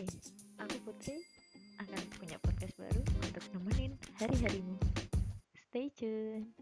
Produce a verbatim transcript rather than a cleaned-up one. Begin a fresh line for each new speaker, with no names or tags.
Hai, aku Putri akan punya podcast baru untuk nemenin hari-harimu. Stay tune.